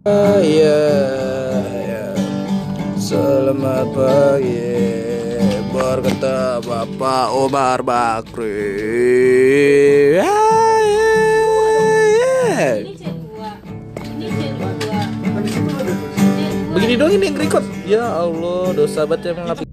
Ya, ya. Selamat pagi, berkata Bapak Omar Bakri. Ya, ya. Ini C2. Ini C2. Begini dong ini yang record. Ya Allah, dosa banget emang.